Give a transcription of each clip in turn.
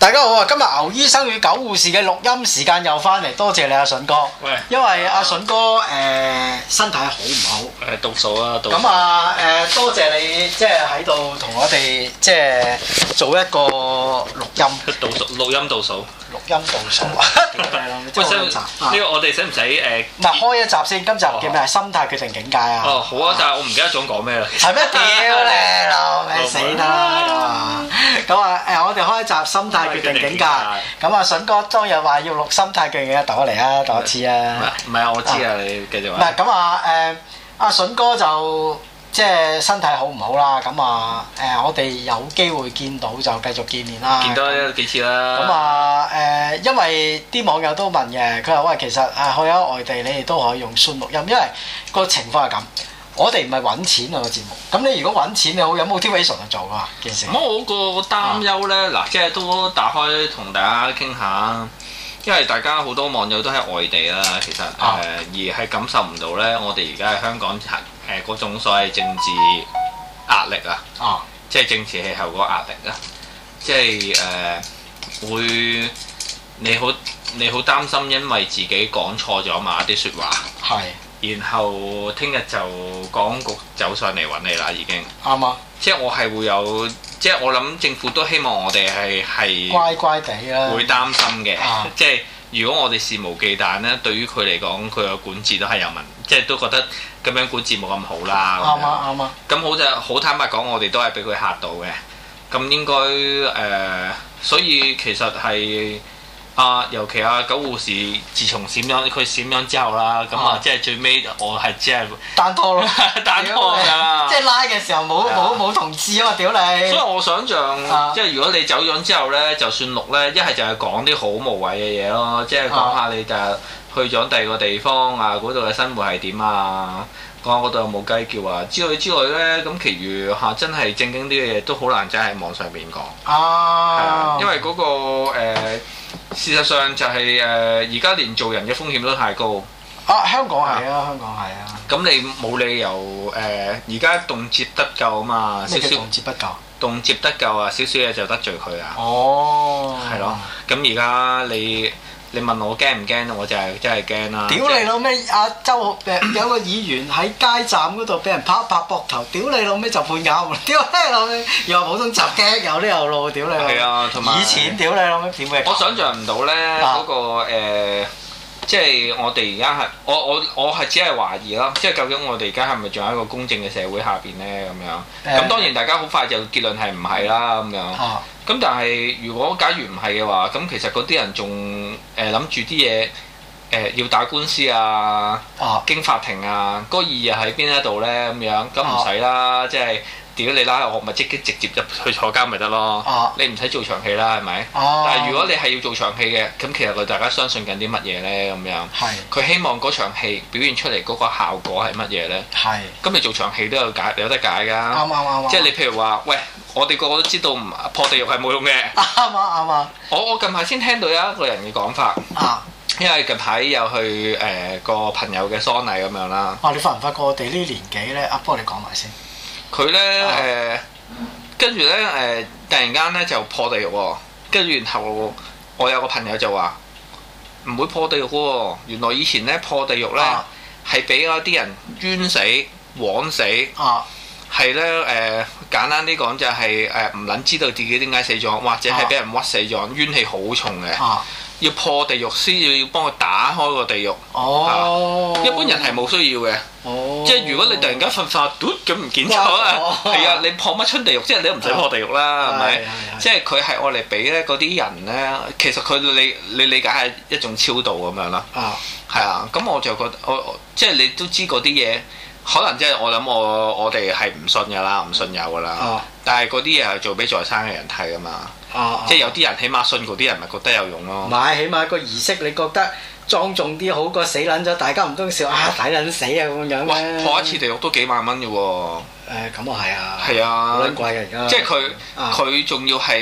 大家好啊！今日牛醫生與狗護士嘅錄音時間又翻嚟，多謝你阿筍哥。 喂， 因為阿筍哥身體好唔好？ 倒數啊，倒數。 咁啊多謝你即係喺度同我哋即係做一個錄音。 倒數，錄音倒數。 錄音倒數。 喂，呢個我哋使唔使唔係開一集先？今集叫咩？心態決定境界啊！ 哦，好啊，但係我唔記得咗講咩啦。 係咩？屌你老味死啦！咁啊我哋開一集心態決定境界。咁啊筍哥當日話要錄心態決定境界，讀我嚟啊，讀一次啊！ 唔係啊，我知啊，你繼續話。 唔係咁啊阿筍哥就即係身體好唔好啦？咁啊我哋有機會見到就繼續見面啦。 見多幾次啦。咁啊因為啲網友都問嘅，佢話喂，其實去咗外地你哋都可以用 Zoom 錄音，因為個情況係咁。我哋唔係揾錢啊個節目，咁你如果揾錢你好有 motivation 去做噶嘛件事。 咁我個擔憂咧，嗱，即係都打開同大家傾下，因為大家好多網友都喺外地啦，其實而係感受唔到咧，我哋而家喺香港嗰種所謂政治壓力啊，即係政治氣候嗰個壓力啊，即係會你好擔心，因為自己講錯咗某一啲説話。係。然後聽日就港局走上嚟揾你啦，已經啱啊！ 即係我係會有，即係我諗政府都希望我哋係乖乖地啦， 會擔心嘅。即係如果我哋肆無忌憚咧，對於佢嚟講，佢嘅管治都係有問題，即係都覺得咁樣管治冇咁好啦。啱啊啱啊！咁好坦白講，我哋都係俾佢嚇到嘅。咁應該所以其實係。尤其狗護士，自從佢閃咗之後啦，咁即係最尾我係只係單拖咯， 單拖㗎， 即係拉嘅時候冇同志啊嘛，屌你！所以我想像，即係如果你走咗之後咧，就算錄咧，一係就係講啲好無謂嘅嘢咯，即係講下你就去咗第二個地方啊，嗰度嘅生活係點啊，講下嗰度有冇雞叫啊之類咧，咁其餘真係正經啲嘅嘢都好難真係喺網上邊講。因為嗰個事實上就係而家連做人嘅風險都太高。 香港係啊，香港係啊。咁你冇理由而家動輒得咎啊嘛， 咩叫動輒得咎？ 動輒得咎啊，少少嘢就得罪佢啊。 哦。係咯，咁而家你問我驚唔驚？我就係真係驚啦！ 屌你老味！阿周有個議員喺街站嗰度俾人拍一拍膊頭，屌你老味就判監！屌你老味又話普通襲擊，有啲有路，屌你！ 係啊，同埋以前屌你老味點會？ 我想象唔到咧嗰個即係我哋而家係我係只係懷疑啦，即係究竟我哋而家係咪仲喺一個公正嘅社會下邊咧咁樣？咁當然大家好快就結論係唔係啦咁樣。咁但係如果假如唔係嘅話，咁其實嗰啲人仲諗住啲嘢要打官司啊，經法庭啊，嗰個意義喺邊一度咧咁樣？咁唔使啦，即係屌你拉我咪直接入去坐監咪得咯。你唔使做長戲啦，係咪？但係如果你係要做長戲嘅，咁其實佢大家相信緊啲乜嘢咧咁樣？佢希望嗰場戲表現出嚟嗰個效果係乜嘢咧？咁你做長戲都有得解㗎。啱。即係你譬如話，喂。我哋個個都知道破地獄係冇用嘅。啱啊！我近排先聽到有一個人嘅講法。因為近排有去個朋友嘅喪禮咁樣啦。 你發唔發覺我哋呢年紀咧？不過你講埋先。 佢咧跟住咧突然間咧就破地獄喎。跟住然後我有個朋友就話唔會破地獄喎。原來以前咧破地獄咧係俾嗰啲人冤死、枉死。係咧簡單啲講就係唔撚知道自己點解死咗，或者係俾人屈死咗，冤氣好重嘅，要破地獄先要幫佢打開個地獄。一般人係冇需要嘅，即係如果你突然間瞓發嘟咁唔見咗啊，係啊，你破乜春地獄？即係你都唔使破地獄啦，係咪？即係佢係愛嚟俾咧嗰啲人咧，其實佢你理解係一種超度咁樣啦。係啊，咁我就覺得即係你都知嗰啲嘢。可能即係我諗我哋係唔信㗎啦，唔信有㗎啦。但係嗰啲嘢係做俾在生嘅人睇㗎嘛。即係有啲人起碼信嗰啲人咪覺得有用咯。唔係， 起碼個儀式你覺得莊重啲好過死撚咗，大家唔通笑抵撚死啊咁樣咩？ 破一次地獄都幾萬蚊㗎喎。 咁啊係啊。 係啊。 好撚貴㗎而家。 即係佢仲要係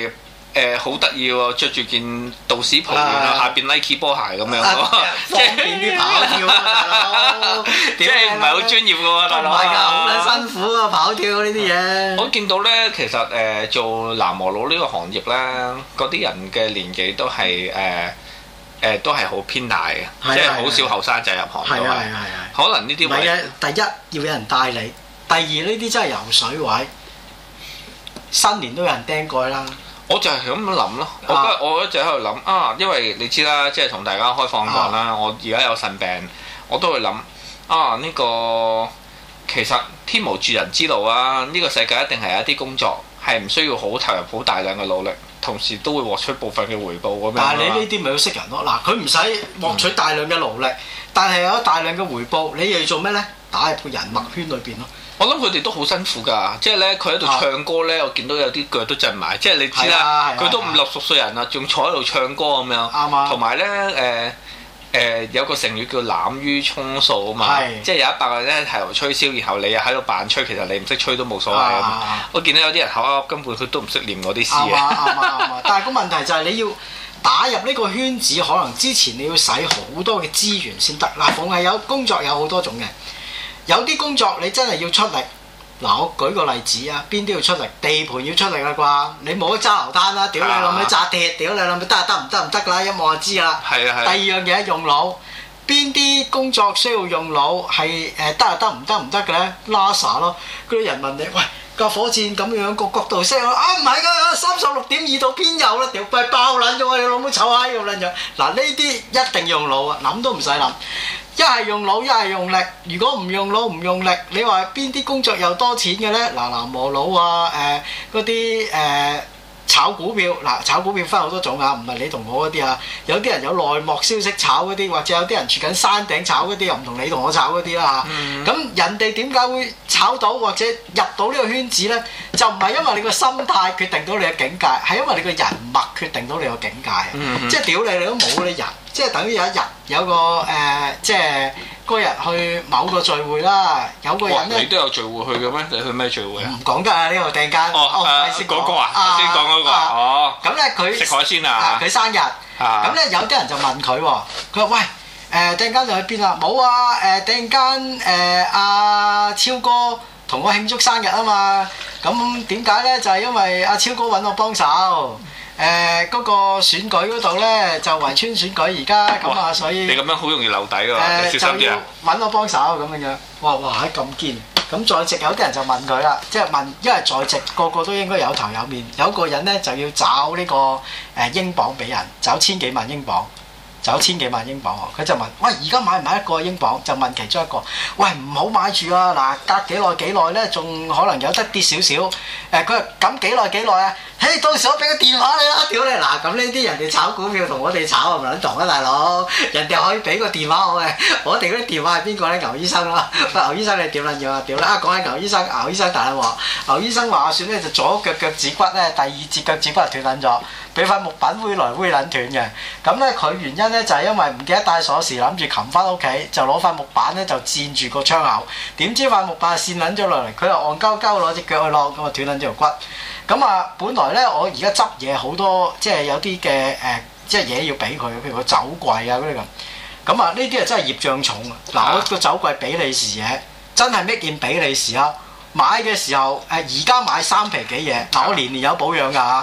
好得意喎，着住件道士袍，然後下邊 Nike 波鞋咁樣喎， 方便啲跑跳啊，大佬！ 即係唔係好專業嘅喎，大佬。 唔係㗎，好撚辛苦啊，跑跳呢啲嘢。 我見到咧，其實做男模佬呢個行業咧，嗰啲人嘅年紀都係都係好偏大嘅，即係好少後生仔入行都係。可能呢啲唔係嘅， 第一要有人帶你，第二呢啲真係游水位，新年都有人釘蓋啦。 我就係咁諗咯，我一直喺度諗啊，因為你知啦，即係同大家開放講啦，我而家有腎病，我都會諗啊，呢個其實天無絕人之路啊，呢個世界一定係有一啲工作係唔需要好投入好大量嘅努力，同時都會獲取部分嘅回報咁樣。 但係你呢啲咪要識人咯，嗱，佢唔使獲取大量嘅勞力，但係有大量嘅回報，你又要做咩呢？打入個人脈圈裏邊咯。 我諗佢哋都好辛苦㗎，即係咧佢喺度唱歌咧，我見到有啲腳都震埋，即係你知啦，佢都50-60歲人啦，仲坐喺度唱歌咁樣。啱啊！同埋咧有個成語叫濫竽充數啊嘛，即係有100個人咧係度吹簫，然後你又喺度扮吹，其實你唔識吹都冇所謂啊嘛。我見到有啲人口噏根本佢都唔識念嗰啲詩嘅。 啱，但係個問題就係你要打入呢個圈子，可能之前你要使好多嘅資源先得。嗱，逢係有工作有好多種嘅。有啲工作你真係要出力，嗱，我舉個例子啊，邊啲要出力？地盤要出力啦啩，你冇得揸流攤啦，屌你老味紮鐵，屌你老味得唔得㗎啦，一望就知㗎啦。係。第二樣嘢用腦，邊啲工作需要用腦係得唔得嘅咧？NASA 咯，嗰啲人問你，喂，架火箭咁樣個角度 set 啊，唔係㗎，36.2度偏右啦，屌咪爆撚咗你老母臭閪咁撚樣。嗱，呢啲一定用腦啊，諗都唔使諗。一係用腦，一係用力。如果唔用腦唔用力，你話邊啲工作又多錢嘅呢？嗱，男模佬啊，嗰啲炒股票，嗱，炒股票分好多種啊，唔係你同我嗰啲啊。有啲人有內幕消息炒嗰啲，或者有啲人住緊山頂炒嗰啲，又唔同你同我炒嗰啲啦嚇。咁人哋點解會炒到或者入到呢個圈子呢？就唔係因為你個心態決定到你嘅境界，係因為你個人脈決定到你個境界。即係屌你都冇你人。即係等於有一日有個即係嗰日去某個聚會啦，有個人咧， 你都有聚會去嘅咩？你去咩聚會啊？ 唔講得啊！呢個突然間先講個啊，先講嗰個哦。 咁咧佢食海鮮啊！ 佢生日，咁咧有啲人就問佢喎，佢話喂突然間就去邊啊？冇啊！突然間阿超哥同我慶祝生日啊嘛！咁點解咧？就係因為阿超哥揾我幫手。嗰個選舉嗰度咧就圍村選舉而家咁啊，所以你咁樣好容易漏底喎，小心啲啊！ 揾我幫手咁樣，哇咁堅！咁在席有啲人就問佢啦，即係問，因為在席個個都應該有頭有面，有個人咧就要找呢個英鎊俾人，找千幾萬英鎊。佢就問：喂，而家買唔買一個英鎊？就問其中一個：喂，唔好買住啊！嗱，隔幾耐咧，仲可能有得跌少少。佢話咁幾耐啊？嘿，到時我俾個電話你啦，屌你！嗱，咁呢啲人哋炒股票同我哋炒係咪撚同啊，大佬？人哋可以俾個電話我嘅，我哋嗰啲電話係邊個咧？牛醫生啦，喂，牛醫生你點撚樣啊？屌啦！講起牛醫生大鑊，牛醫生話説咧就左腳趾骨咧，第2節腳趾骨係斷撚咗。俾塊木板揮來揮撚斷嘅，咁咧佢原因咧就係因為唔記得帶鎖匙，諗住擒翻屋企，就攞塊木板咧就墊住個窗口，點知塊木板跣撚咗落嚟，佢又戇鳩鳩攞隻腳去攞，咁啊斷撚咗條骨。咁啊，本來咧我而家執嘢好多，即係有啲嘅即係嘢要俾佢，譬如個酒櫃啊嗰啲咁。咁啊，呢啲啊真係業障重啊！嗱，我個酒櫃比利時嘢，真係搣件比利時啊！買嘅時候而家買3皮幾嘢，嗱我年年有保養㗎嚇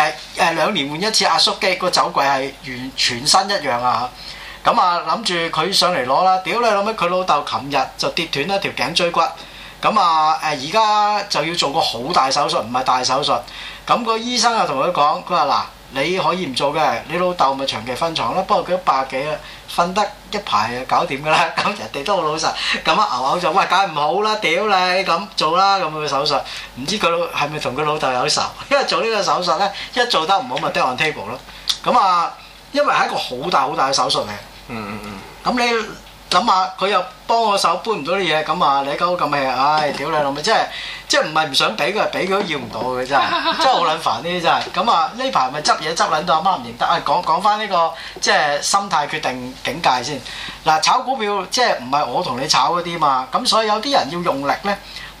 ，2年換一次壓縮機，個酒櫃係完全新一樣啊！咁啊諗住佢上嚟攞啦，屌你老味，佢老豆琴日就跌斷一條頸椎骨，咁啊而家就要做個好大手術，唔係大手術，咁個醫生啊同佢講，佢話嗱，你可以唔做嘅，你老豆咪長期瞓床啦，不過佢都100幾啦，瞓得一排就搞掂㗎啦，咁人哋都好老實，咁啊牛口就喂梗係唔好啦，屌你咁做啦，咁嘅手術，唔知佢係咪同佢老豆有仇？因為做呢個手術咧，一做得唔好咪 dead on table 咯，咁啊，因為係一個好大嘅手術嚟，咁你諗下，佢又幫我手搬唔到啲嘢，咁啊你鳩咁氣，唉屌你老味，即係唔係唔想俾佢，俾佢都要唔到嘅真係，真係好撚煩呢啲真係。咁啊呢排咪執嘢執撚到阿媽唔認得啊！講翻呢個即係心態決定境界先。嗱，炒股票即係唔係我同你炒嗰啲嘛，咁所以有啲人要用力咧，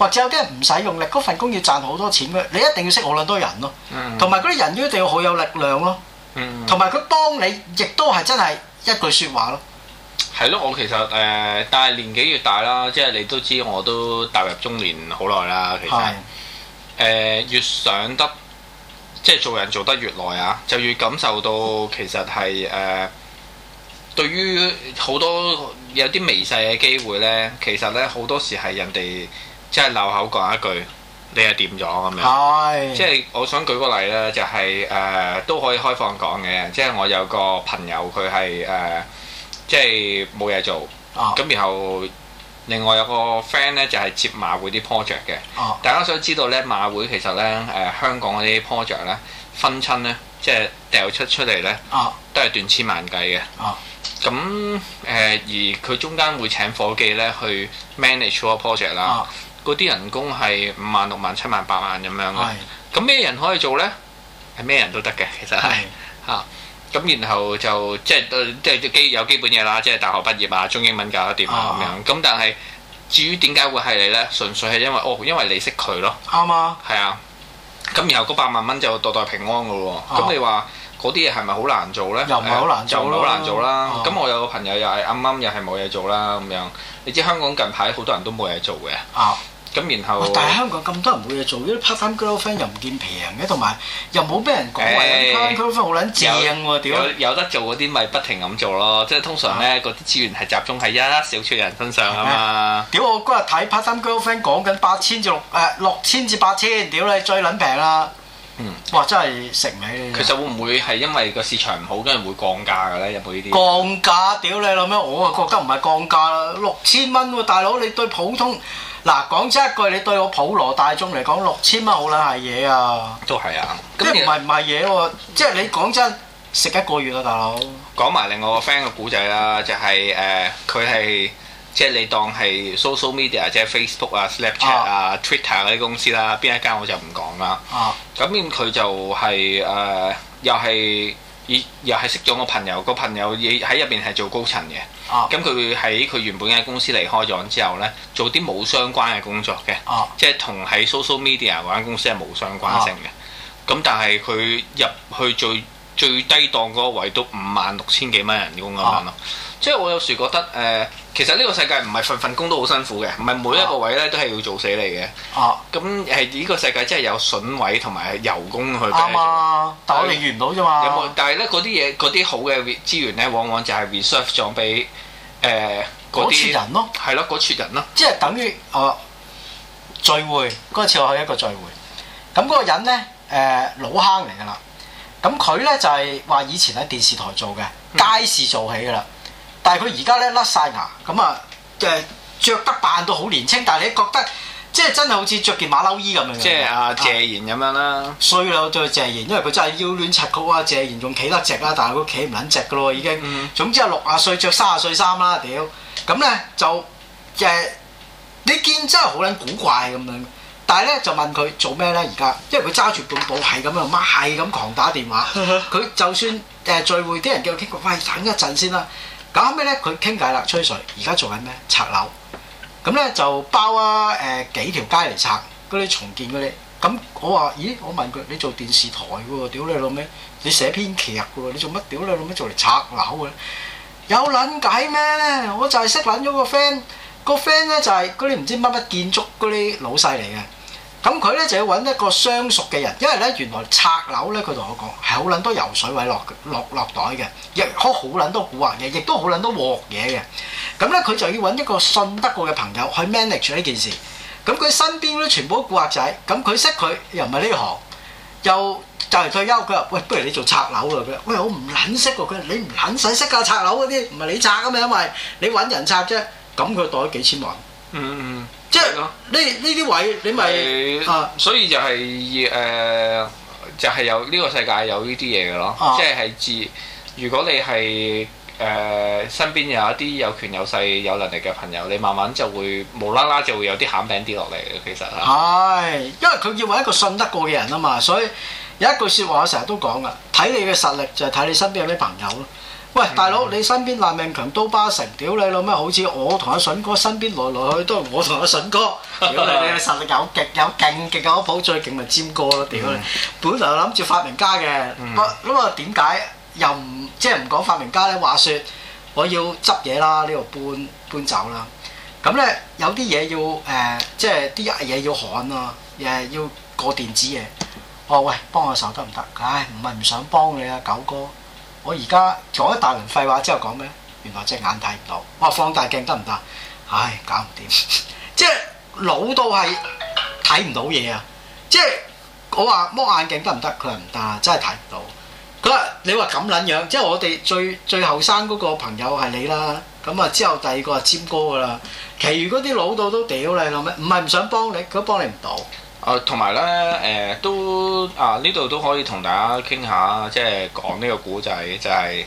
或者有啲人唔使用力，嗰份工要賺好多錢嘅，你一定要識好撚多人咯，同埋嗰啲人一定要好有力量咯，同埋佢幫你亦都係真係一句説話咯。 係咯，我其實但係年紀越大啦，即係你都知我都踏入中年好耐啦，其實越上得即係做人做得越耐啊，就越感受到其實係對於好多有啲微細嘅機會呢，其實呢好多時係人哋即係漏口講一句，你係掂咗咁樣。即係我想舉個例呢，就係都可以開放講嘅，即係我有個朋友佢係即係冇嘢做，咁然後另外有個 friend 呢，就係接馬會啲 project 嘅。大家想知道呢，馬會其實呢，香港嗰啲 project 呢，分親呢，即係掉出嚟呢，都係斷千萬計嘅。咁而佢中間會請夥計咧去 manage 個 project 啦，嗰啲人工係5萬、6萬、7萬、8萬咁樣嘅。咁咩人可以做咧？係咩人都得嘅，其實係嚇。咁然後就即係有基本嘢啦，即係大學畢業啊，中英文搞得掂啊咁樣。咁但係至於點解會係你咧？純粹係因為你識佢咯。啱啊。係啊。咁然後嗰8萬蚊就代代平安㗎喎。咁你話？嗰啲嘢係咪好難做呢？又唔係好難做，就唔係好難做啦。咁我有個朋友又係啱又係冇嘢做啦咁樣。你知香港近排好多人都冇嘢做嘅。咁然後，但係香港咁多人冇嘢做，啲 part-time girlfriend 又唔見平嘅，同埋又冇俾人講話 part-time girlfriend 好撚正喎屌！有得做嗰啲咪不停咁做咯，即係通常呢嗰啲資源係集中喺一小撮人身上啊嘛。屌我嗰日睇 part-time girlfriend 講緊8000至6000至8000，屌你最撚平啦！哇！真係食唔起。其實會唔會係因為個市場唔好，跟住會降價嘅咧？有冇呢啲？降價？屌你老咩！我啊覺得唔係降價啦，6000蚊喎，大佬你對普通嗱講真一句，你對我普羅大眾嚟講6000蚊好撚係嘢啊！都係啊，即係唔係嘢喎？即係你講真食一個月啊，大佬。講埋另外個 friend 嘅故仔啦，就係佢係。即係你當係 social media，即係 Facebook 啊、Snapchat 啊、Twitter 嗰啲公司啦，邊一間我就唔講啦。咁佢就係又係識咗個朋友，個朋友喺入邊係做高層嘅。咁佢喺佢原本間公司離開咗之後呢，做啲冇相關嘅工作嘅，即係同喺 social media 嗰間公司係冇相關性嘅。咁但係佢入去最低檔嗰個位都56000幾蚊人工咁樣咯。即係我有時覺得其實呢個世界唔係份工都好辛苦嘅，唔係每一個位咧都係要做死你嘅。咁係呢個世界真係有筍位同埋油工去。啱啊，但係我哋遇唔到啫嘛。有冇？但係咧嗰啲好嘅資源咧，往往就係 reserve 咗俾嗰撮人咯。係咯，嗰撮人咯。即係等於聚會嗰次我去一個聚會，咁嗰個人咧老坑嚟㗎啦。咁佢咧就係話以前喺電視台做嘅，街市做起㗎啦。但係佢而家咧甩晒牙，咁啊著得扮到好年青，但係你覺得即係真係好似着件馬騮衣咁樣。即係阿謝賢咁樣啦。衰啦，對謝賢，因為佢真係腰攣柒曲啊！謝賢仲企得直啦，但係佢企唔撚直㗎咯已經。總之係60歲着30歲衫啦，屌！咁咧就你見真係好撚古怪咁樣。但係咧就問佢做咩咧而家，因為佢揸住本簿係咁樣，媽係咁狂打電話。佢就算聚會啲人叫佢傾過，喂等一陣先啦。咁後尾咧佢傾偈啦，吹水。而家做緊咩？拆樓。咁咧就包幾條街嚟拆嗰啲重建嗰啲。咁我話：咦？我問佢：你做電視台嘅喎？屌你老味！你寫編劇嘅喎？你做乜？屌你老味做嚟拆樓嘅？有撚計咩？我就係識撚咗個 friend。個 friend 咧就係嗰啲唔知乜乜建築嗰啲老細嚟嘅。咁佢咧就要揾一個相熟嘅人，因為咧原來拆樓咧，佢同我講係好撚多油水位落袋嘅，亦好撚多蠱惑嘢，亦都好撚多鑊嘢嘅。咁咧佢就要揾一個信得過嘅朋友去 manage 呢件事。咁佢身邊咧全部都蠱惑仔，咁佢識佢又唔係呢行，又就嚟退休。佢話：喂，不如你做拆樓啊！佢話：喂，我唔撚識喎。佢話：你唔撚使識㗎，拆樓嗰啲唔係你拆㗎嘛，因為你揾人拆啫。咁佢袋咗幾千萬。即係呢啲位你咪所以就係就係有呢個世界有呢啲嘢嘅咯。即係如果你係身邊有一啲有權有勢有能力嘅朋友，你慢慢就會無啦啦就會有啲餡餅跌落嚟嘅。其實係因為佢要揾一個信得過嘅人啊嘛，所以有一句説話我成日都講噶，睇你嘅實力就係睇你身邊有咩朋友咯。 喂，大佬，你身邊爛命強刀疤城，屌你老咩？好似我同阿筍哥身邊來來去都係我同阿筍哥，屌你實力有極有勁極有譜，最勁咪尖哥咯，屌你！本來諗住發明家嘅，咁啊點解又唔即係唔講發明家咧？話説我要執嘢啦，呢度搬走啦。咁咧有啲嘢要即係啲嘢要焊啊，要過電子嘢。我話喂，幫我手得唔得？唉，唔係唔想幫你啊，九哥。我而家講一大輪廢話之後講咩？原來隻眼睇唔到。我話放大鏡得唔得？唉，搞唔掂。即係老到係睇唔到嘢啊！即係我話摸眼鏡得唔得？佢話唔得，真係睇唔到。佢話你話咁撚樣，即係我哋最後生嗰個朋友係你啦。咁啊之後第二個係尖哥㗎啦。其餘嗰啲老到都屌你老咩？唔係唔想幫你，佢都幫你唔到。 同埋咧都呢度都可以同大家傾下，即係講呢個古仔，就係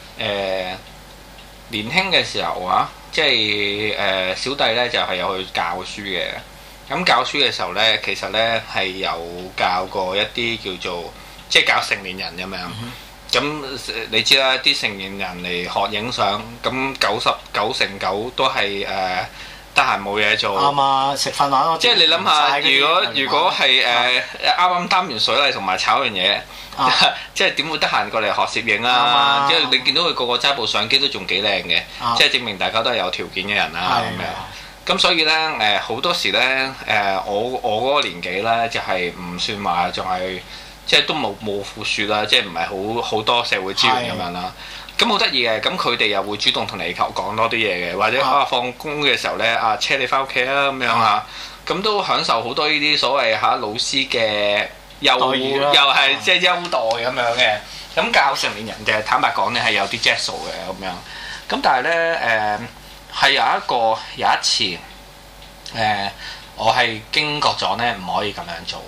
年輕嘅時候啊，即係小弟咧就係有去教書嘅。咁教書嘅時候咧，其實咧係有教過一啲叫做即係教成年人咁樣。咁你知啦，啲成年人嚟學影相，咁99%都係得閒冇嘢做， 啱啊！食飯玩咯， 即係你諗下，如果係啱啱擔完水例同埋炒完嘢，即係點會得閒過嚟學攝影啊？即係你見到佢個個揸部相機都仲幾靚嘅，即係證明大家都係有條件嘅人啦咁樣。咁所以咧好多時咧我嗰個年紀咧就係唔算話仲係即係都冇富庶啦，即係唔係好多社會資源咁樣啦。咁好得意嘅，咁佢哋又會主動同你講多啲嘢嘅，或者放工嘅時候咧車你翻屋企啊咁樣嚇，咁都享受好多呢啲所謂老師嘅又係即係優待咁樣嘅。咁教成年人嘅坦白講咧係有啲 jet 數嘅咁樣。咁但係咧係有一次我係驚覺咗咧唔可以咁樣做，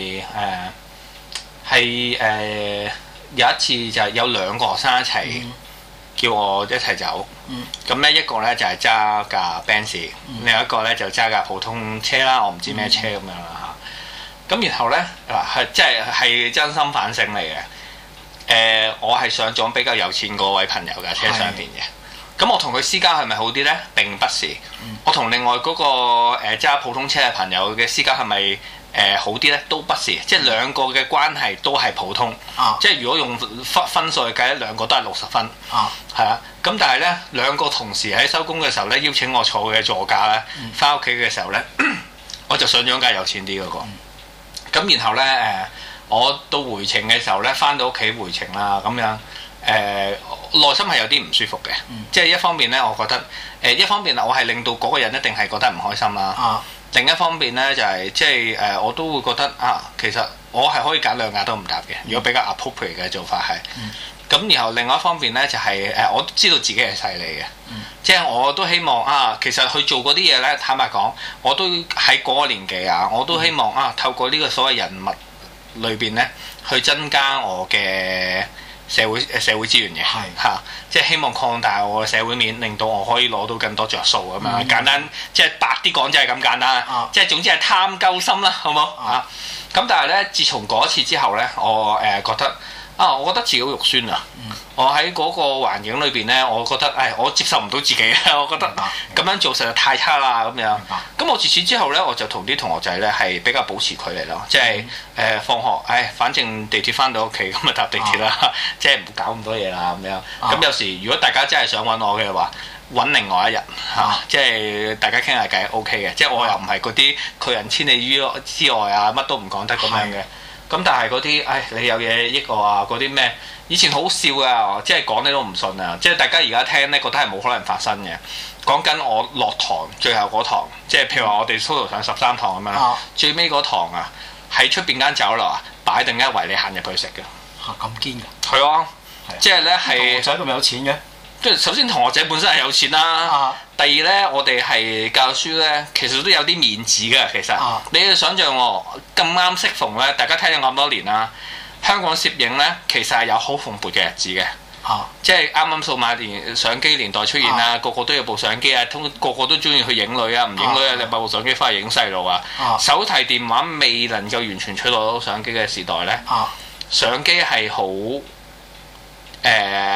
有一次就係有兩個學生一齊。叫我一齊走，咁咧一個咧就係揸架 Benz，另一個咧就揸架普通車啦，我唔知咩車咁樣啦嚇。咁然後咧係即係真心反省嚟嘅。我係上咗比較有錢嗰位朋友嘅車上邊嘅。咁我同佢私交係咪好啲咧？並不是。我同另外嗰個揸普通車嘅朋友嘅私交係咪？好啲咧都不是，即係兩個嘅關係都係普通，即係如果用分數去計咧，兩個都係60分，係啊。咁但係咧兩個同時喺收工嘅時候咧邀請我坐嘅座駕咧，翻屋企嘅時候咧，我就上咗架有錢啲嗰個。咁然後咧我到回程嘅時候咧，翻到屋企回程啦咁樣，內心係有啲唔舒服嘅，即係一方面咧，我覺得一方面我係令到嗰個人一定係覺得唔開心啦。另一方面咧就係即係我都會覺得其實我係可以揀兩架都唔搭嘅，如果比較 appropriate 嘅做法係。咁然後另外一方面咧就係我都知道自己係勢利嘅，即係我都希望其實去做嗰啲嘢咧，坦白講，我都喺嗰個年紀我都希望透過呢個所謂人物裏邊咧，去增加我嘅社會資源嘅，即係希望擴大我嘅社會面，令到我可以攞到更多着數咁樣。簡單即係白啲講，就係咁簡單。即係總之係貪鳩心啦，好冇嚇？咁但係咧，自從嗰次之後咧，我覺得我覺得自己好肉酸啊！我喺嗰個環境裏邊咧，我覺得我接受唔到自己，我覺得咁樣做實在太差啦咁樣。咁我自此之後咧，我就同啲同學仔咧係比較保持距離咯，即係放學反正地鐵翻到屋企咁咪搭地鐵啦，即係唔好搞咁多嘢啦咁樣。咁有時如果大家真係想揾我嘅話，揾另外一日即係大家傾下偈 OK 嘅，即係我又唔係嗰啲拒人千里於之外乜都唔講得咁樣嘅。咁但係嗰啲你有嘢益我嗰啲咩？以前好笑噶，即係講你都唔信啊！即係大家而家聽咧，覺得係冇可能發生嘅。講緊我落堂最後嗰堂，即係譬如話我哋 total 上13堂咁樣，最尾嗰堂喺出邊間酒樓擺定一圍你行入去食嘅。 咁堅㗎？ 係啊，即係咧係。同學仔咁有錢嘅？ 即係首先同學仔本身係有錢啦。第二咧，我哋係教書咧，其實都有啲面子嘅。其實你要想象咁啱適逢咧，大家聽咗咁多年啦。香港攝影咧，其實係有好蓬勃嘅日子嘅，即係啱啱數碼相機年代出現啦，個個都有部相機個個都中意去影女唔影女你買部相機翻去影細路手提電話未能夠完全取代到相機嘅時代咧，相機係好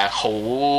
好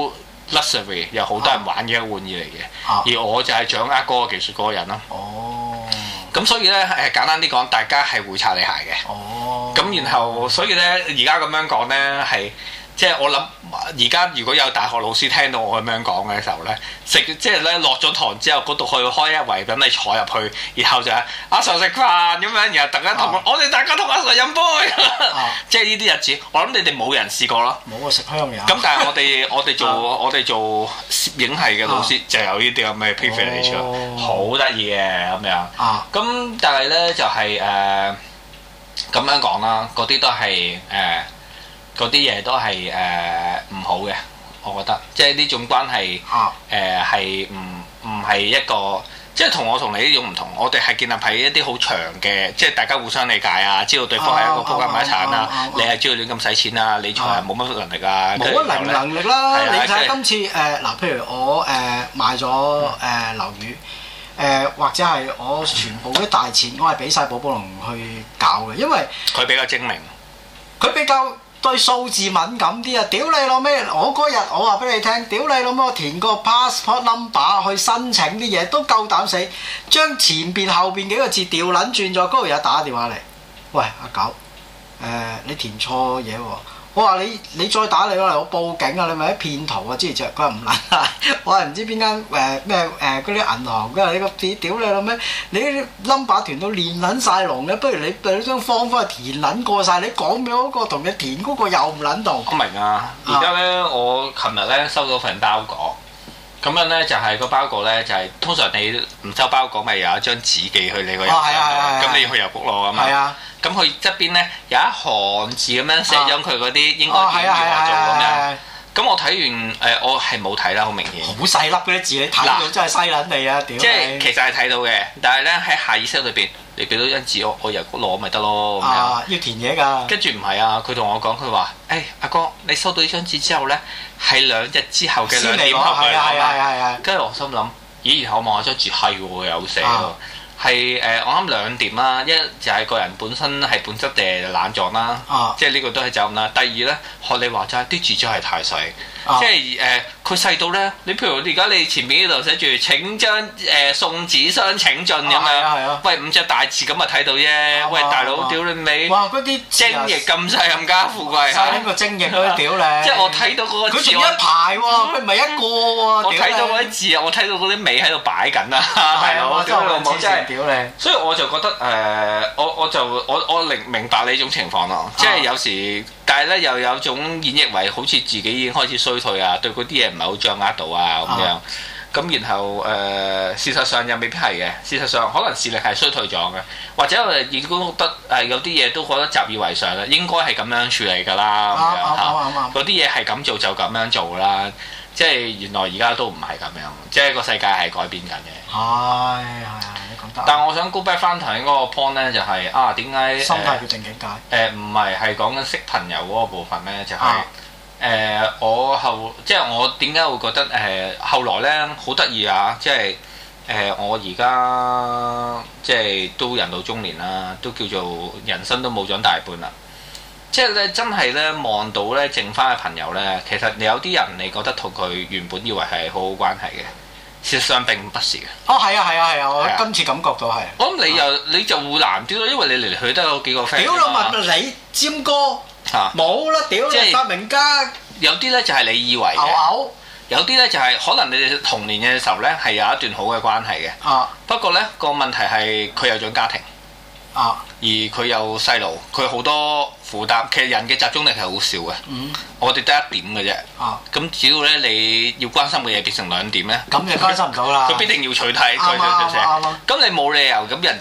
luxury 又好多人玩嘅一個玩意嚟嘅，而我就係掌握嗰個技術嗰個人咯。咁所以咧簡單啲講，大家係會擦你鞋嘅。咁然後所以咧而家咁樣講咧係。即係我諗，而家如果有大學老師聽到我咁樣講嘅時候咧，即係咧落咗堂之後，嗰度去開一圍等你坐入去，然後就阿 Sir 食飯咁樣，然後突然間同我哋大家同阿 Sir 飲杯，即係呢啲日子，我諗你哋冇人試過咯。冇啊，食香嘢。咁但係我哋做攝影系嘅老師就有呢啲咁嘅 privilege，好得意嘅咁樣。咁但係咧就係咁樣講啦，嗰啲都係嗰啲嘢都係唔好嘅，我覺得，即係呢種關係係唔係一個，即係同我同你呢種唔同。我哋係建立喺一啲好長嘅，即係大家互相理解啊，知道對方係一個仆街買產啊，你係知道亂咁使錢啊，理財係冇乜能力啊， 冇乜能力啦。你睇下今次嗱，譬如我賣咗樓宇。或者係我全部啲大錢，我係俾晒寶寶龍去搞嘅，因為佢比較精明， 佢比較對數字敏感啲啊！屌你老味，我嗰日我話俾你聽，屌你老味，我填個 passport number 去申請啲嘢都夠膽死，將前邊後邊幾個字調撚轉咗，嗰度有打電話嚟，喂阿狗，你填錯嘢喎！我話你再打嚟我報警啊！你咪啲騙徒啊！之前佢話唔撚啊！我係唔知邊間咩嗰啲銀行，佢話你個屌你老咩？你啲 number 填到練撚晒龍嘅，不如你張方翻去填撚過晒。你講俾嗰個同你填嗰個又唔撚同。我明啊！ 而家咧，我琴日咧收到份包裹，咁樣咧就係個包裹咧就係通常你唔收包裹咪有一張紙寄去你個郵箱，咁你要去郵局攞啊嘛。咁佢側邊咧有一行字咁樣寫咗佢嗰啲應該點樣做咁樣。咁我睇完我係冇睇啦，好明顯。好細粒嗰啲字，你睇到真係犀撚你啊！屌！即係其實係睇到嘅，但係咧喺下意識裏邊，你俾到張紙我郵局攞咪得咯咁樣。 要填嘢㗎。跟住唔係啊，佢同我講佢話：阿哥，你收到呢張紙之後咧，係2日之後嘅2點後佢攞。跟住我心諗，咦？然後我望下張紙係喎，有寫喎。係我諗2點啦，一就係個人本身係本質定懶狀啦，即係呢個都係責任啦。第二咧，學你話齋啲字真係太細，即係佢細到咧，你譬如而家你前面呢度寫住請將送紙箱請進咁樣，喂5隻大字咁咪睇到啫。喂大佬，屌你尾！哇！嗰啲精液咁細冚家富貴，細呢個精液咯，屌你！即係我睇到嗰個字，佢仲一排喎，佢唔係一個喎。我睇到嗰啲字啊，我睇到嗰啲尾喺度擺緊啊，大佬！屌你老母真係！所以我就覺得我明白你呢種情況咯，即係有時，但係咧又有種演繹為好似自己已經開始衰退啊，對嗰啲嘢唔係好掌握到啊咁樣，咁然後事實上又未必係嘅，事實上可能視力係衰退咗嘅，或者我哋已經覺得有啲嘢都覺得習以為常啦，應該係咁樣處理㗎啦咁樣嚇，嗰啲嘢係咁做就咁樣做啦。即係原來而家都唔係咁樣，即係個世界係改變緊嘅。係，你講得。但係我想 go back 翻頭先嗰個 point 咧，就係點解心態決定境界？唔係講緊識朋友嗰個部分咧，就係即係我點解會覺得後來咧好得意啊！即係我而家即係都人到中年啦，都叫做人生都冇長大半啦。即係咧，真係咧望到咧剩翻嘅朋友咧，其實你有啲人你覺得同佢原本以為係好好關係嘅，事實上並不是嘅。係啊！我今次感覺到係。我諗你就會難啲咯，因為你嚟嚟去都有幾個 friend。屌老問你尖哥冇啦，屌你發明家。有啲咧就係你以為嘅，有啲咧就係可能你哋童年嘅時候咧係有一段好嘅關係嘅。不過咧個問題係佢有咗家庭。而佢有細路，佢好多負擔。其實人嘅集中力係好少嘅，我哋得1點嘅啫。咁只要咧你要關心嘅嘢變成2點咧，咁就關心唔到啦。佢必定要取替佢咁你冇理由咁人哋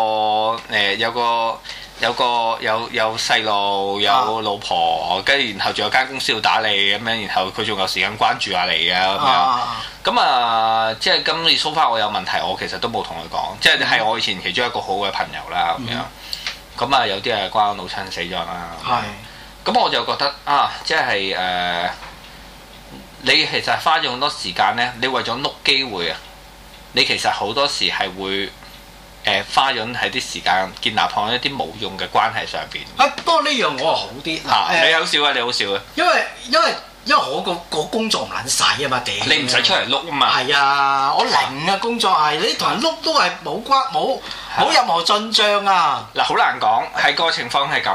有細路有老婆，跟住然後仲有間公司要打理咁樣，然後佢仲有時間關注下你啊咁樣。咁即係今次so far我有問題，我其實都冇同佢講，即係我以前其中一個好嘅朋友啦咁樣。咁有啲係關我老親死咗啦。咁我就覺得即係你其實花咗好多時間咧，你為咗碌機會啊，你其實好多時係會。花咗喺啲時間建立喺一啲冇用嘅關係上邊。不過呢樣我係好啲。你好少啊！你好少啊！因為我個工作唔撚使啊嘛，屌！ 你唔使出嚟碌啊嘛。 係啊，我零啊工作係，你同人碌都係冇任何進帳啊。 嗱，好難講，係個情況係咁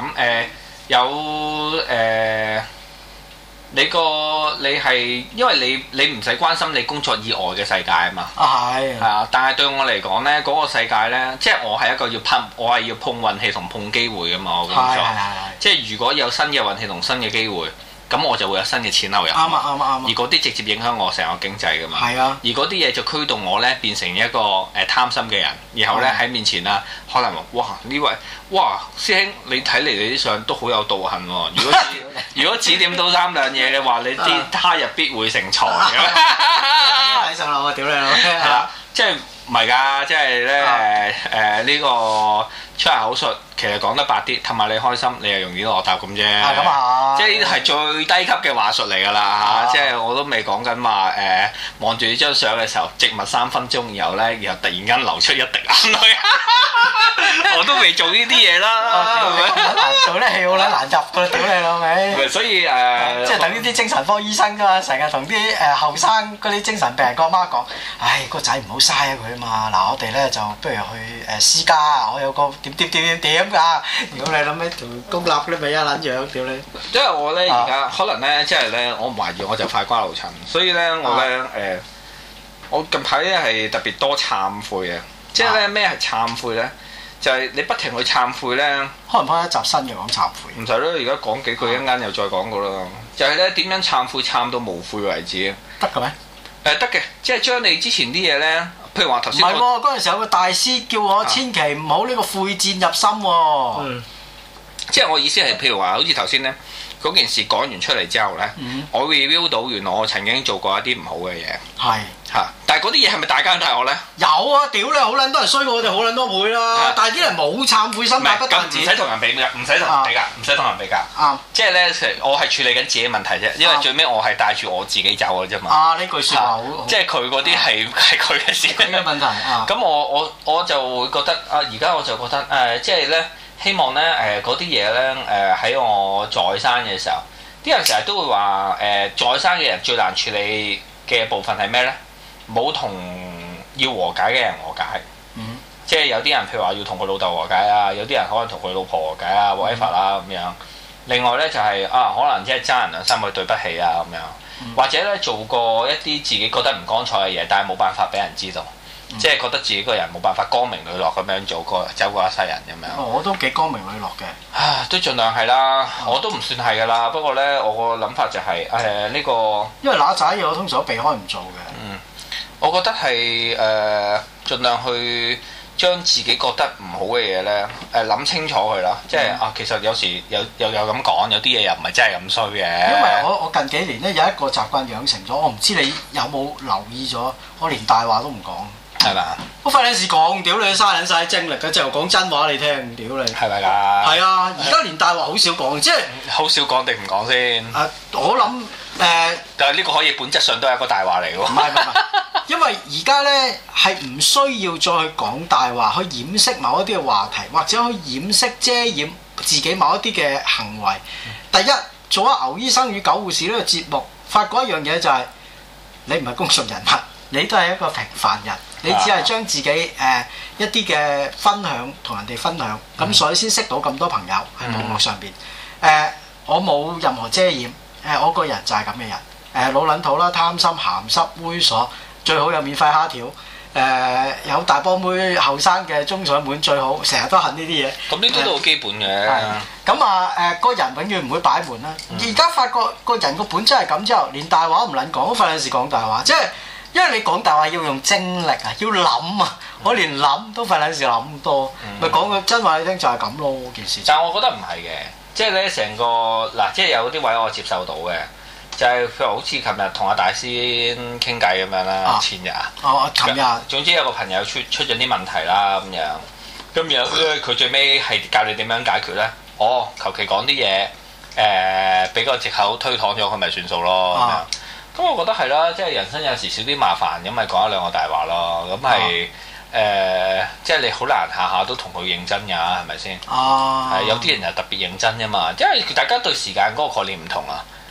你係因為你唔使關心你工作以外嘅世界啊嘛。 係。 係啊，但係對我嚟講咧，嗰個世界咧，即係我係一個我係要碰運氣同碰機會噶嘛，我工作。即係如果有新嘅運氣同新嘅機會，咁我就會有新嘅錢流入。啱。而嗰啲直接影響我成個經濟噶嘛。係啊。而嗰啲嘢就驅動我咧變成一個貪心嘅人，然後咧喺面前啊，可能話哇呢位師兄，你睇嚟你啲相都好有道行喎。如果指點到3兩嘢嘅話，你啲他日必會成才嘅。 睇上樓啊！屌你老味。 係啦，即係唔係㗎？即係咧呢個出口術，其實講得白啲，氹下你開心，你又容易落答咁啫。 咁啊！ 即係呢啲係最低級嘅話術嚟㗎啦嚇！即係我都未講緊話望住呢張相嘅時候，靜默3分鐘，然後突然間流出一滴眼淚。我都未做呢啲嘢啦，係咪？ 做啲戲好撚難入㗎，屌你老味！ 所以即係等於啲精神科醫生㗎嘛，成日同啲後生嗰啲精神病人個媽講：唉，個仔唔好嘥啊佢啊嘛！嗱，我哋咧就不如去私家，我有個點㗎。如果你諗起條公立嗰啲咪一撚樣，屌你！ 因為我咧而家可能咧，即係咧，我唔懷疑我就快瓜流塵，所以咧我咧我近排咧係特別多懺悔嘅。即係咧咩係懺悔咧？就係你不停去懺悔咧。 開唔開一集新嘅講懺悔？ 唔使咯，而家講幾句，一陣間又再講過啦。就係咧點樣懺悔懺到無悔為止？ 得嘅咩？ 得嘅，即係將你之前啲嘢咧，譬如話頭先。唔係喎，嗰陣時有個大師叫我千祈唔好呢個悔戰入心喎。 即係我意思係，譬如話好似頭先咧嗰件事講完出嚟之後咧，我 review 到原來我曾經做過一啲唔好嘅嘢。係。但係嗰啲嘢係咪大奸大惡咧？有啊！屌你，好撚多人衰過我哋好撚多倍啦！但係啲人冇懺悔心，不單止。唔使同人比㗎，唔使同人比㗎，唔使同人比較。啱。即係咧，我係處理緊自己問題啫，因為最尾我係帶住我自己走嘅啫嘛。呢句説話好。即係佢嗰啲係佢嘅事。佢嘅問題。咁我就會覺得而家我就覺得即係咧，希望咧嗰啲嘢咧喺我在生嘅時候，啲人成日都會話在生嘅人最難處理嘅部分係咩咧？冇同要和解嘅人和解，即係有啲人譬如話要同佢老豆和解啊，有啲人可能同佢老婆和解啊，whatever 啦咁樣。另外咧就係可能即係爭人2、3句對不起啊咁樣，或者咧做過一啲自己覺得唔光彩嘅嘢，但係冇辦法俾人知道，即係覺得自己個人冇辦法光明磊落咁樣走過一世人咁樣。我都幾光明磊落嘅，都盡量係啦，我都唔算係㗎啦。不過咧，我個諗法就係呢個，因為嗱仔嘢我通常都避開唔做嘅。我覺得係盡量去將自己覺得唔好嘅嘢咧諗清楚佢啦，即係其實有時有咁講，有啲嘢又唔係真係咁衰嘅。因為我近幾年咧有一個習慣養成咗，我唔知你有冇留意咗，我連大話都唔講，係咪啊？我費撚事講，屌你嘥撚晒精力嘅，即係講真話你聽，屌你係咪㗎？係啊，而家連大話好少講，即係好少講定唔講先？我諗但係呢個可以本質上都係一個大話嚟喎。唔係。因為而家咧係唔需要再去講大話，去掩飾某一啲嘅話題，或者去掩飾遮掩自己某一啲嘅行為。第一，做咗牛醫生與狗護士呢個節目，發覺一樣嘢就係你唔係公眾人物，你都係一個平凡人，你只係將自己一啲嘅分享同人哋分享，咁所以先識到咁多朋友喺網絡上邊。我冇任何遮掩，我個人就係咁嘅人，老撚土啦，貪心鹹濕猥瑣。最好有免費蝦條，有大波妹後生嘅中上門最好，成日都恨呢啲嘢。咁呢啲都好基本嘅。咁個人永遠唔會擺門啦。而家發覺個人個本質係咁之後，連大話都唔撚講，都費事講大話。即係因為你講大話要用精力啊，要諗啊，我連諗都費事諗咁多，咪講個真話你聽就係咁咯件事。但係我覺得唔係嘅，即係咧成個嗱，即係有啲位我接受到嘅。就係譬如好似琴日同阿大師傾偈咁樣啦，前日琴日，總之有個朋友出咗啲問題啦咁樣，咁然後佢最尾係教你點樣解決咧？求其講啲嘢，俾個藉口推搪咗佢咪算數咯咁樣。咁我覺得係啦，即係人生有時少啲麻煩，咁咪講一兩個大話咯。咁係即係你好難下下都同佢認真㗎，係咪先？有啲人又特別認真㗎嘛，因為大家對時間嗰個概念唔同啊。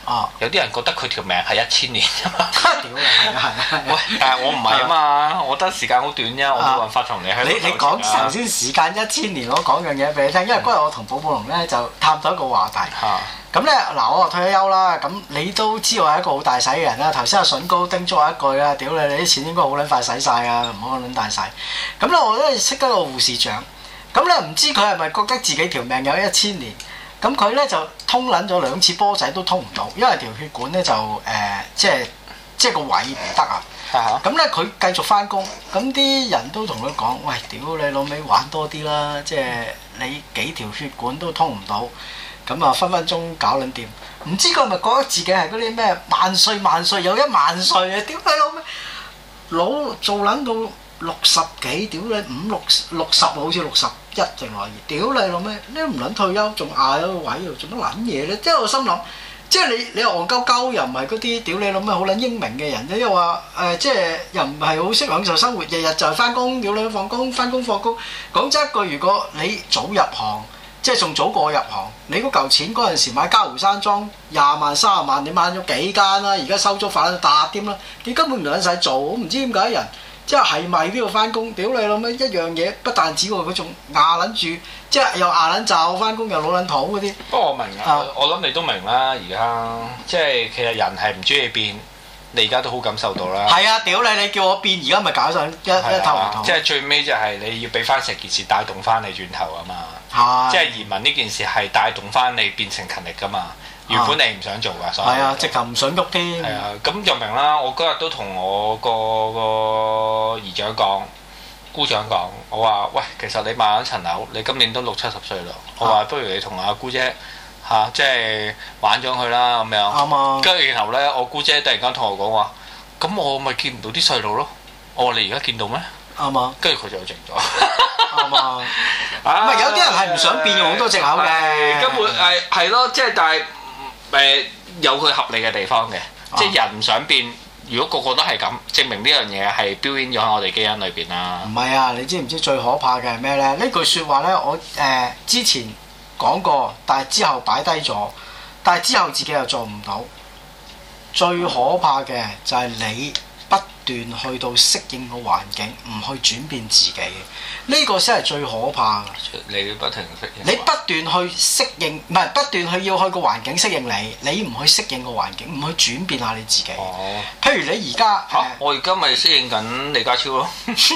有啲人覺得佢條命係1000年啫嘛。 屌你係喂，但係我唔係啊嘛，我覺得時間好短啫，我冇辦法同你喺度。 你講頭先時間1000年，我講樣嘢俾你聽，因為嗰日我同寶寶龍咧就探討一個話題。咁咧嗱，我退咗休啦，咁你都知我係一個好大使嘅人啦。頭先阿筍哥叮囑我一句啦，屌你啲錢應該好撚快使晒啊，唔好撚大使。咁咧我都識得個護士長，咁咧唔知佢係咪覺得自己條命有1000年？咁佢咧就通撚咗2次波仔都通唔到，因為條血管咧就即係個位唔得啊。咁咧佢繼續翻工，咁啲人都同佢講：喂，屌你老味玩多啲啦！即係你幾條血管都通唔到，咁啊分分鐘搞撚掂。唔知佢係咪覺得自己係嗰啲咩萬歲有10000歲啊？屌你老味老做撚到60幾，屌你50、60好似61定來屌你老味，你都唔撚退休，仲嗌喺個位度做乜撚嘢咧？即係我心諗。即係你又戇鳩鳩，又唔係嗰啲屌你老咩好撚英明嘅人啫，又話即係又唔係好識享受生活，日日就係翻工屌你放工翻工放工。講真一句，如果你早入行，即係仲早過我入行，你嗰嚿錢嗰陣時買嘉湖山莊20萬30萬，你買咗幾間啦？而家收租發到達添啦，你根本唔撚使做，我唔知點解人。即係咪都要翻工？屌你老味一樣嘢，不但止喎，佢仲牙撚住，即係又牙撚罩翻工，又老撚土嗰啲。不過我明啊，我諗你都明啦，而家即係其實人係唔中意變，你而家都好感受到啦。係啊，屌你叫我變，而家咪搞上一頭唔同。 即係最尾就係你要俾翻成件事帶動翻你轉頭啊嘛。即係移民呢件事係帶動翻你變成勤力噶嘛。原本你唔想做㗎，所以係啊， 直頭唔想喐添。 係啊，咁就明啦。我嗰日都同我個姨丈講、姑丈講，我話：喂，其實你買咗層樓，你今年都60、70歲啦。我話不如你同阿姑姐即係玩咗佢啦咁樣。 啱啊。 跟住然後咧，我姑姐突然間同我講話：咁我咪見唔到啲細路咯。我話你而家見到咩？ 啱啊。 跟住佢就靜咗。 啱啊。唔係有啲人係唔想變，用好多藉口嘅。 根本係咯，即係但係。有佢合理嘅地方嘅，即係人唔想變。如果個個都係咁，證明呢樣嘢係標籤咗喺我哋基因裏邊啦。 唔係啊，你知唔知最可怕嘅係咩呢？呢句説話呢，我之前講過，但係之後擺低咗，但係之後自己又做唔到。最可怕嘅就係你不斷去到適應個環境，唔去轉變自己。呢個先係最可怕嘅。 你要不停適應。 你不斷去適應，唔係不斷去要去個環境適應你，你唔去適應個環境，唔去轉變下你自己。 哦。 譬如你而家我而家咪適應緊李家超咯。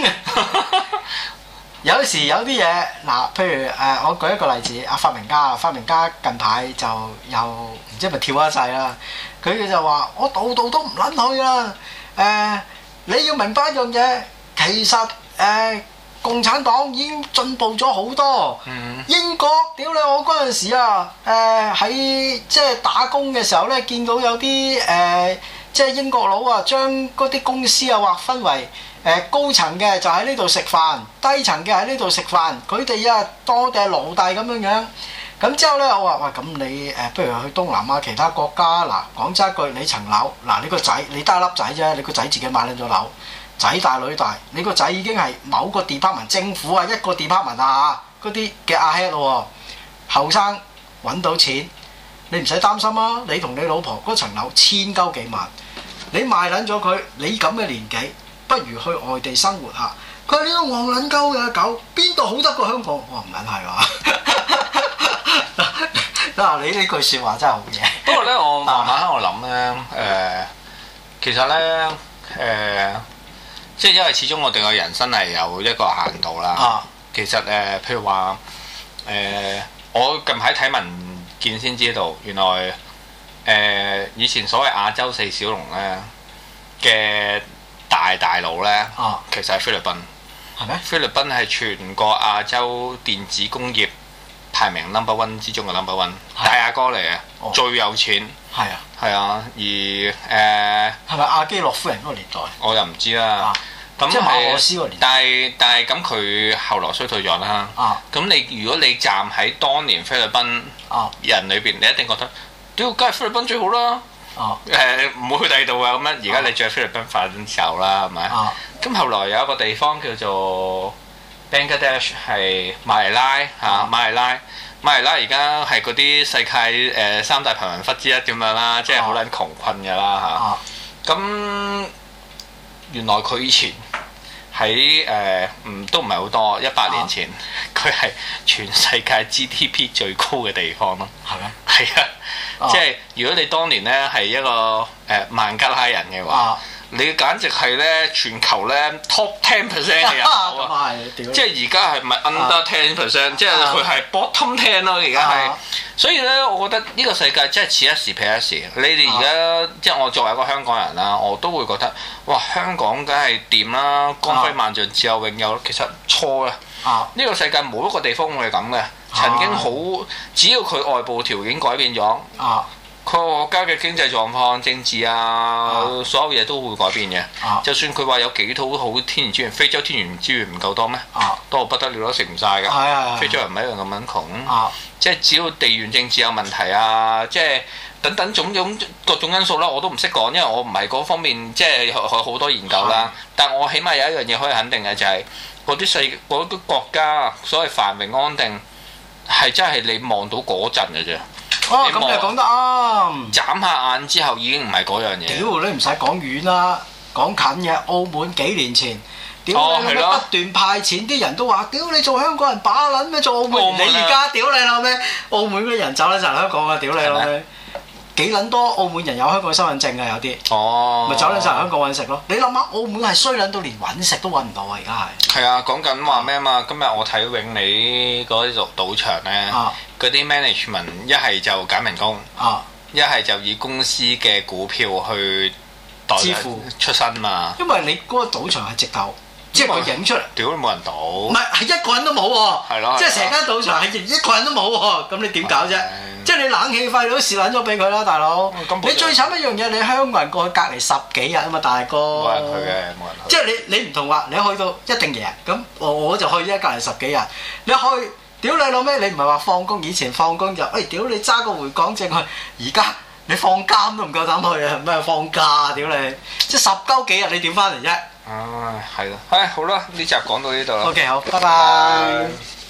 有時有啲嘢嗱，譬如我舉一個例子，發明家近排就又唔知係咪跳一世啦。佢就話：我度都唔撚去啦。你要明白一樣嘢，其實共產黨已經進步咗好多。英國屌你！我嗰陣時啊，喺即係打工嘅時候咧，見到有啲即係英國佬啊，將嗰啲公司啊劃分為高層嘅就喺呢度食飯，低層嘅喺呢度食飯。佢哋啊當我哋係奴隸咁樣樣。咁之後咧，我話：喂，咁你不如去東南亞其他國家嗱，講真一句，你層樓嗱，你個仔你得一粒仔啫，你個仔自己買撚咗樓。仔大女大，你個仔已經係某個 department 政府啊，一個 department 啊嗰啲嘅阿 head 咯喎，後生揾到錢，你唔使擔心啊！你同你老婆嗰層樓千鳩幾萬，你賣撚咗佢，你咁嘅年紀，不如去外地生活下。佢話：呢個戇撚鳩嘅狗，邊度好得過香港？我話唔撚係話。嗱，你呢句説話真係好嘢。 不過咧，我慢慢喺度諗咧，其實咧，即係因為始終我哋個人生係有一個限度啦。其實譬如話我近排睇文件先知道，原來以前所謂亞洲4小龍咧嘅大佬咧，其實係菲律賓。 係咩？ 菲律賓係全個亞洲電子工業排名 number one 之中嘅 number one， 大阿哥嚟嘅，最有錢。係啊。係啊，而係咪阿基諾夫人嗰個年代？我又唔知啦。咁即係馬可斯嗰個年代。 但係咁佢後來衰退咗啦。咁你如果你站喺當年菲律賓人裏邊，你一定覺得，屌，梗係菲律賓最好啦。唔會去第二度啊咁樣。而家你再菲律賓發展時候啦，係咪？咁後來有一個地方叫做 Bangladesh 係馬尼拉嚇，馬尼拉咪係啦，而家係嗰啲世界三大貧民窟之一咁樣啦，即係好撚窮困㗎啦嚇。咁原來佢以前喺都唔係好多100年前，佢係全世界 GDP 最高嘅地方咯。 係咩？ 係啊，即係如果你當年咧係一個孟加拉人嘅話。你簡直係咧全球咧 top 10% 嘅人口啊！即係而家係咪 under 10%？即係佢係 bottom 10咯，而家係。所以咧，我覺得呢個世界真係此一時彼一時。你哋而家即係我作為一個香港人啦，我都會覺得哇，香港梗係掂啦，光輝萬丈，自有永有。其實錯啦！呢個世界冇一個地方會係咁嘅。曾經好，只要佢外部條件改變咗。佢國家嘅經濟狀況、政治所有嘢都會改變嘅。就算佢話有幾套好天然資源，非洲天然資源唔夠多咩？多不得了都食唔晒㗎。非洲人唔係一樣咁樣窮。即係只要地緣政治有問題即係等等種種各種因素啦，我都唔識講，因為我唔係嗰方面即係好多研究啦。但我起碼有一樣嘢可以肯定嘅就係嗰啲國家所謂繁榮安定係真係你望到嗰陣嘅啫。 咁你講得啱。 眨下眼之後已經唔係嗰樣嘢。屌你唔使講遠啦，講近嘅澳門幾年前，屌你不斷派錢，啲人都話：屌你做香港人把撚咩做澳門？你而家屌你老咩？澳門嗰啲人走撚曬香港啊！屌你老咩？幾撚多澳門人有香港身份證啊？有啲咪走撚曬香港揾食咯？你諗下，澳門係衰撚到連揾食都揾唔到啊！而家係。係啊，講緊話咩啊嘛？今日我睇永利嗰啲賭場咧。嗰啲 management 一係就揀人工，一係就以公司嘅股票去支付出身嘛。因為你嗰個賭場係直頭，即係佢影出嚟，屌都冇人賭。唔係，係一個人都冇喎。係咯。即係成間賭場係一個人都冇喎，咁你點搞啫？即係你冷氣費都蝕撚咗俾佢啦，大佬。你最慘一樣嘢，你香港人過去隔離10幾日啊嘛，大哥。冇人去嘅，冇人去。即係你唔同話，你去到一定贏，咁我就去啫，隔離10幾日，你去。屌你老咩！你唔係話放工，以前放工就屌你揸個回港證去，而家你放監都唔夠膽去啊！咩放假啊？屌你！即係10鳩幾日你點翻嚟啫？唉，係咯，好啦，呢集講到呢度啦。OK， 好，拜拜。